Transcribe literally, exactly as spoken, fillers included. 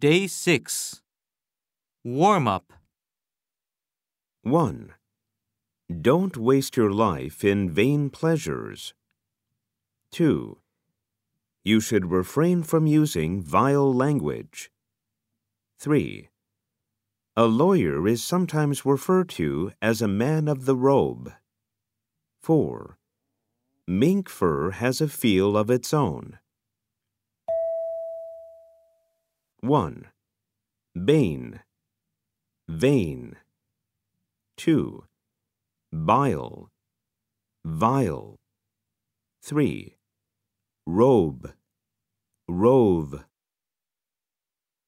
Day six. Warm-up. one. Don't waste your life in vain pleasures. two. You should refrain from using vile language. three. A lawyer is sometimes referred to as a man of the robe. four. Mink fur has a feel of its own. one. Bane, vain. two. Bile, vile. three. Robe, rove.